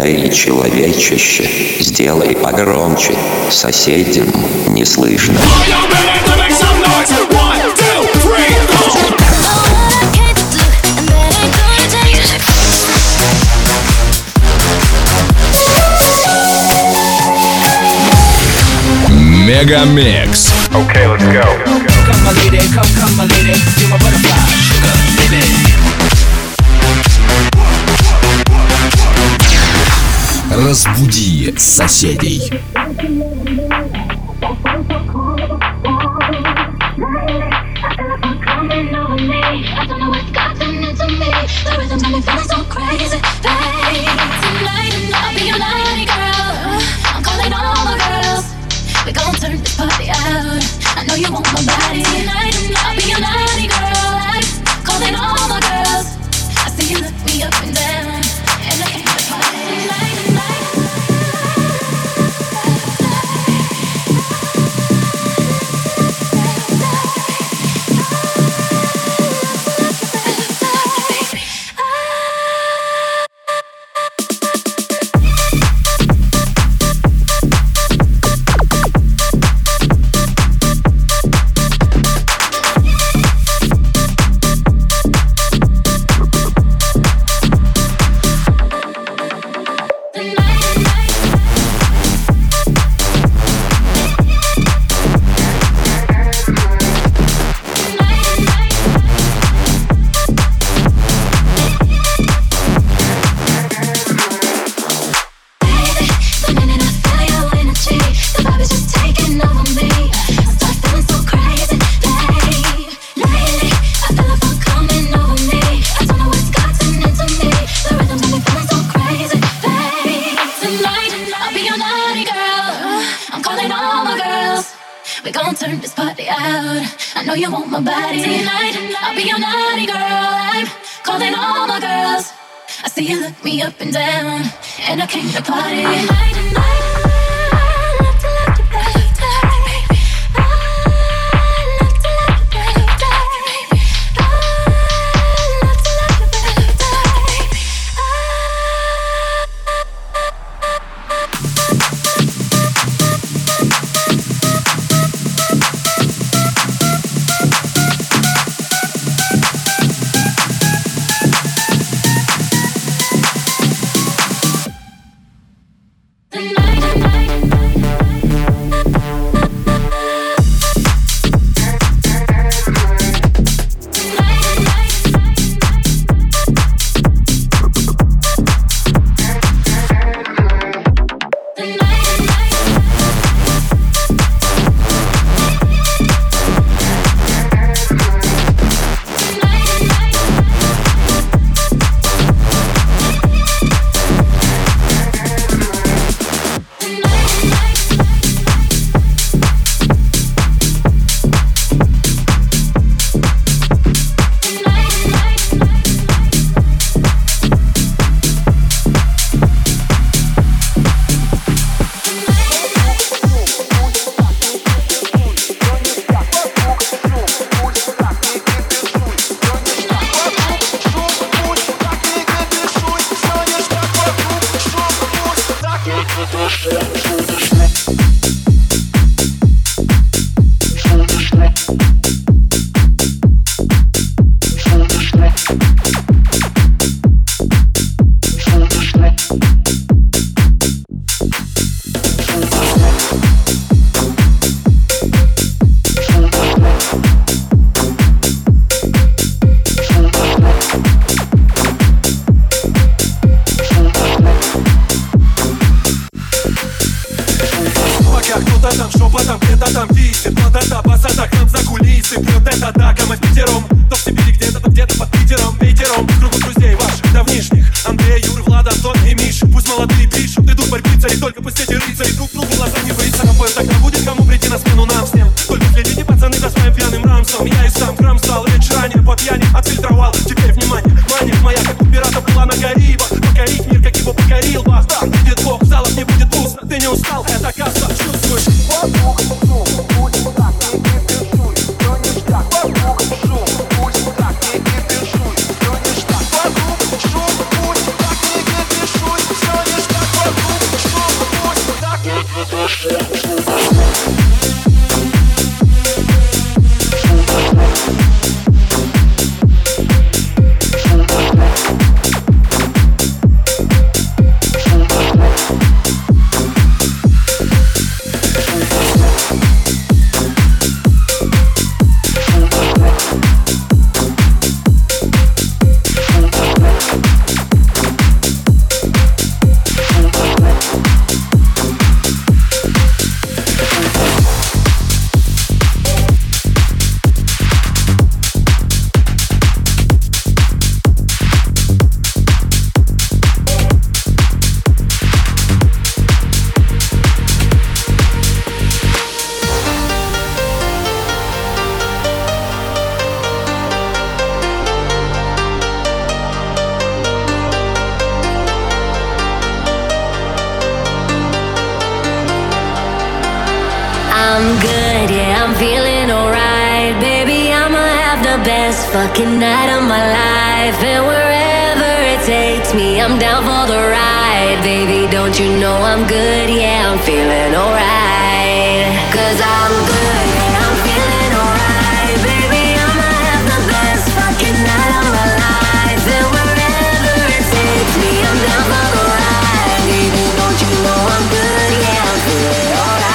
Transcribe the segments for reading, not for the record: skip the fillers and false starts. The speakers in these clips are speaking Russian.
Эй, человечище, сделай погромче, соседям не слышно. Мегамикс. Okay, let's go. Come my lady, come my lady, you're my butterfly, sugar, baby. Разбуди соседей. I know you want my body tonight. I'll be your naughty girl. I'm calling all my girls. I see you look me up and down, and I came to party tonight. Turn this party out. I know you want my body tonight. I'll be your naughty girl. I'm calling all my girls. I see you look me up and down, and I came to party tonight. Fucking night of my life, and wherever it takes me, I'm down for the ride. Baby, don't you know I'm good? Yeah, I'm feeling alright. 'Cause I'm good, yeah, I'm feeling alright. Baby, I'ma have the best fucking night of my life, and wherever it takes me, I'm down for the ride. Baby, don't you know I'm good? Yeah, I'm feeling alright.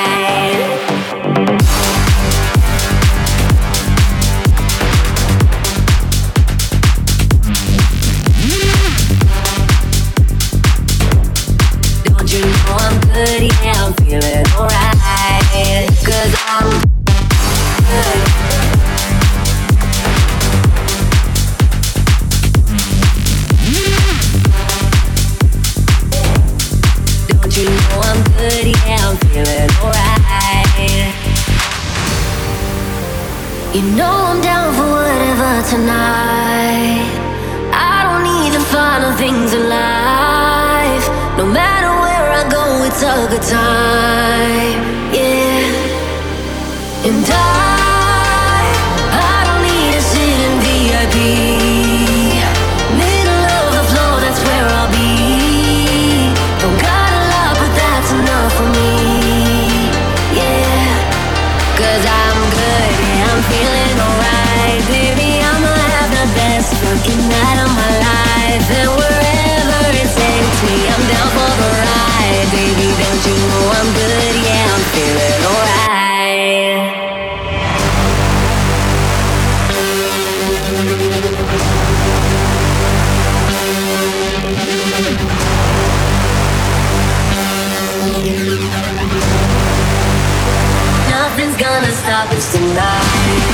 Yeah, I'm feeling alright. 'Cause I'm good. Don't you know I'm good? Yeah, I'm feeling alright. You know I'm down for whatever tonight. I don't need the final things in life. No matter where I go, it's a good time, yeah. And I don't need to sit in VIP. Middle of the floor, that's where I'll be. Don't got a lot, but that's enough for me, yeah. 'Cause I'm good, yeah, I'm feeling alright. Baby, I'ma have the best fucking night of my life. And wherever it takes me, I'm down for the ride. Baby, don't you know I'm good? Yeah, I'm feeling alright. Nothing's gonna stop us tonight.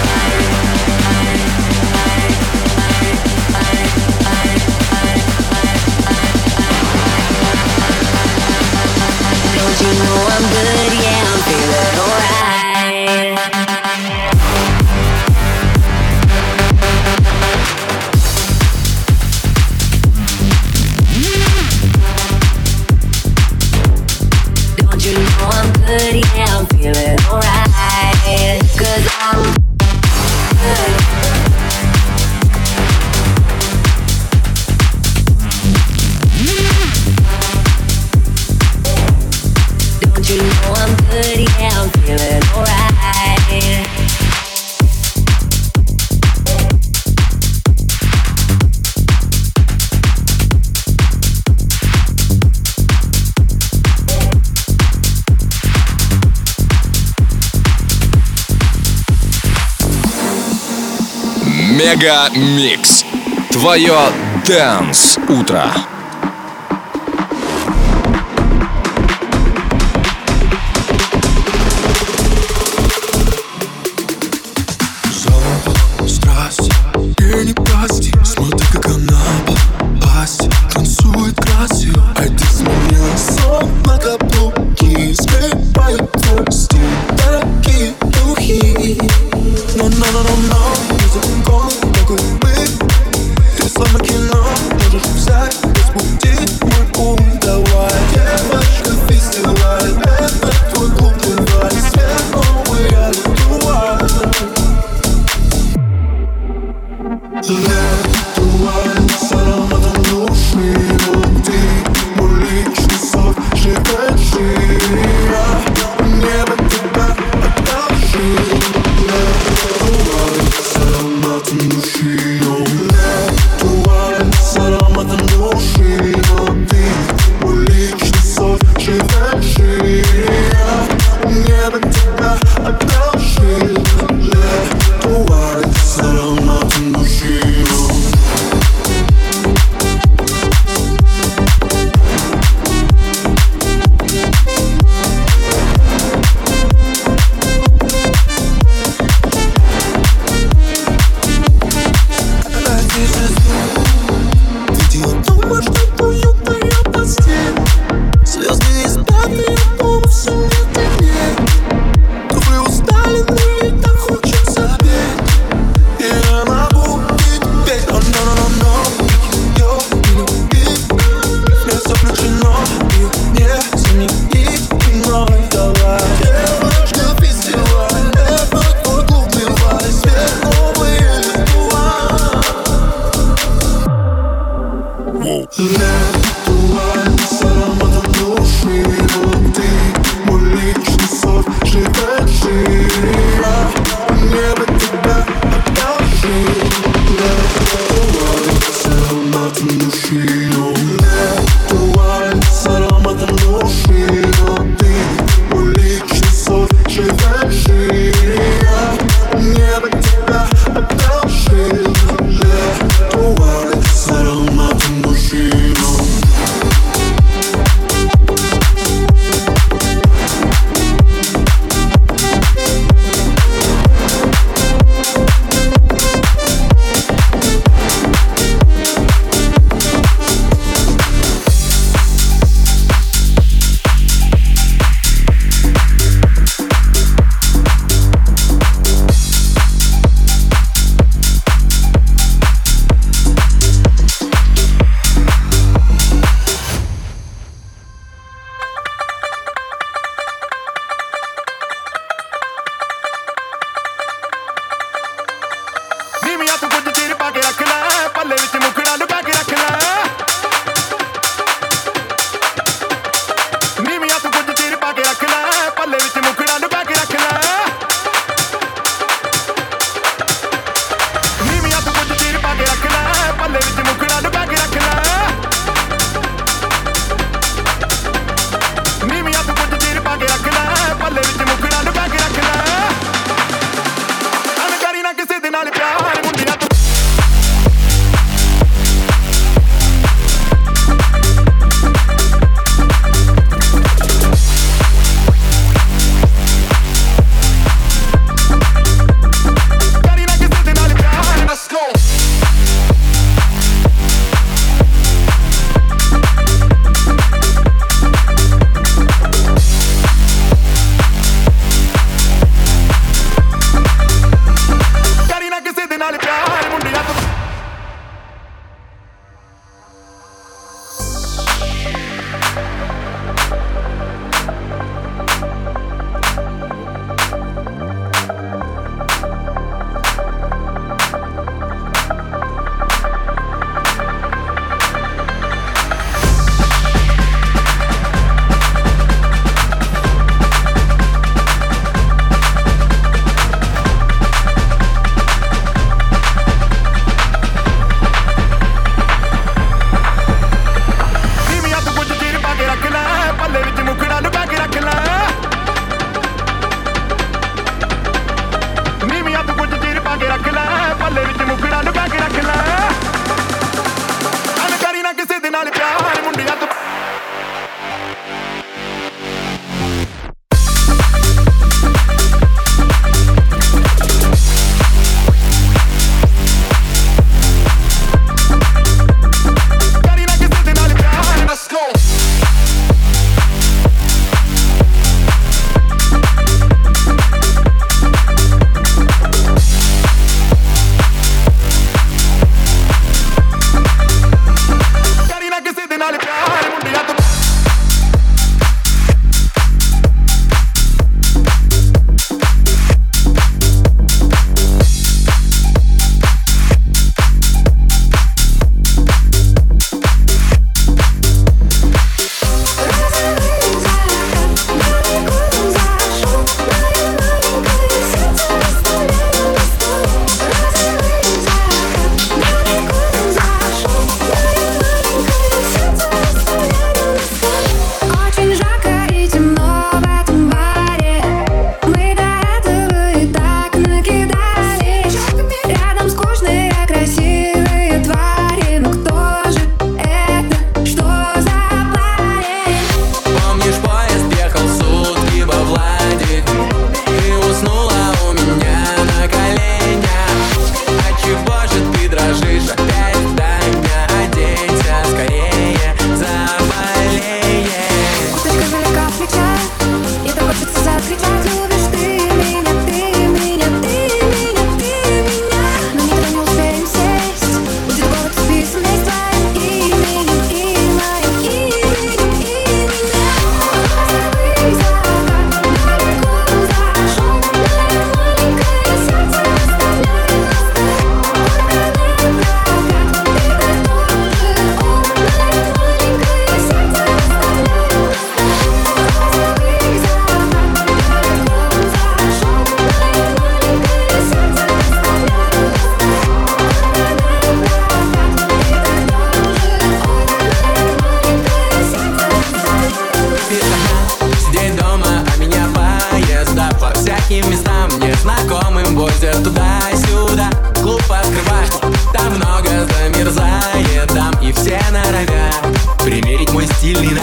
Don't you know I'm good? Yeah, I'm feeling alright. Don't you know I'm good? Yeah, I'm feeling alright. 'Cause I'm good. You know I'm good, yeah, I'm feeling alright. Мега Микс. Твое Dance утро. Словно кино, можешь взять без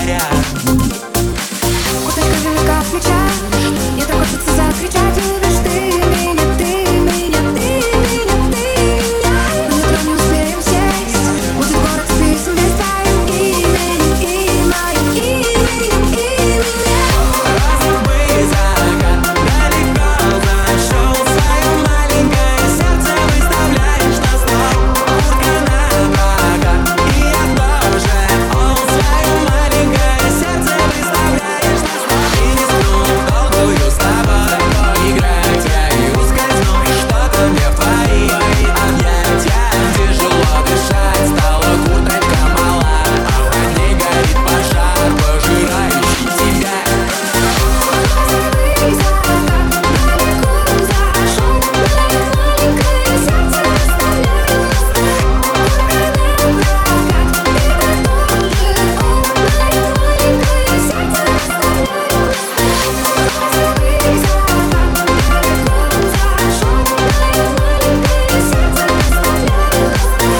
говорят. Куточка велика в плечах, мне так хочется закричать. Любишь ты меня, ты меня, ты меня, ты меня. На метро не успеем сесть, будет город списан без твоим именем и моим именем и меня. Розовый закат далеко зашел, свое маленькое сердце выставляешь на стол. Куртка на прокат, и я тоже. Свое маленькое сердце выставляешь на стол. И не сну в долгую с тобой поиграть, я и ускользну, что-то мне в твои объятия. Тяжело дышать, стала курточка мала, а в ней горит пожар, пожирающий тебя. Розовый закат далеко зашел, мое маленькое сердце выставляю на стол. Куртка на прокат, и ты тоже. Мое маленькое сердце выставляю на стол. Розовый закат далеко зашел, мое маленькое сердце выставляю на стол.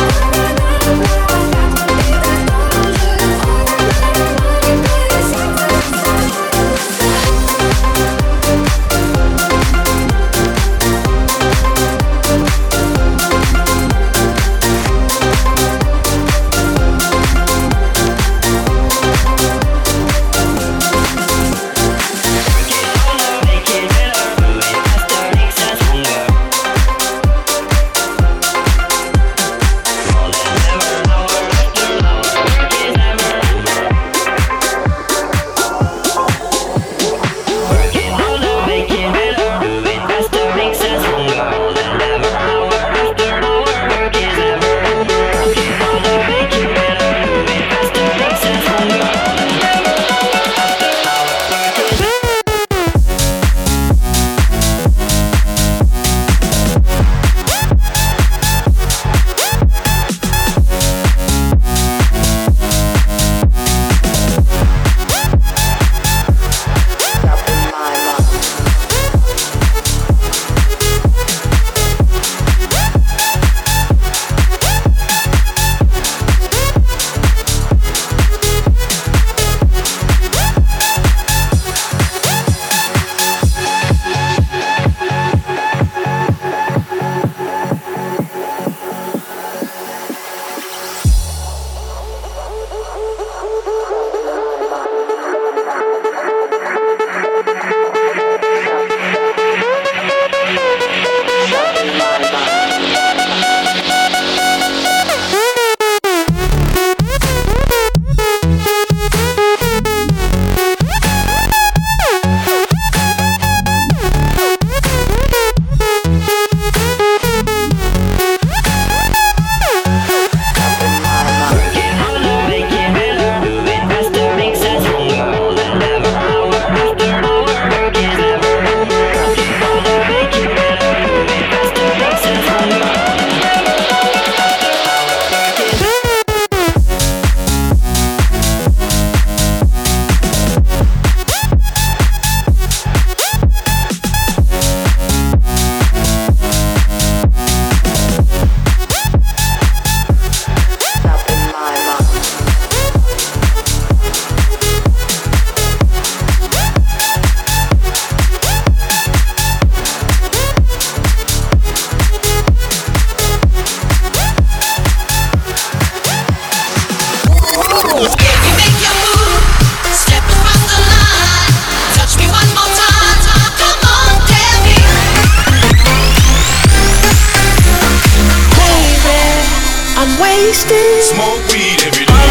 Smoke weed every day.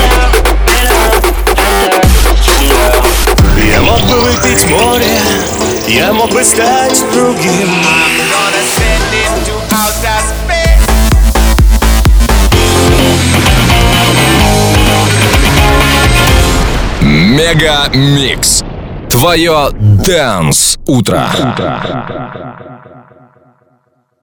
Я мог бы выпить море, я мог бы стать другим. I'm gonna send it to outer space. Мега Микс. Твое Dance утро.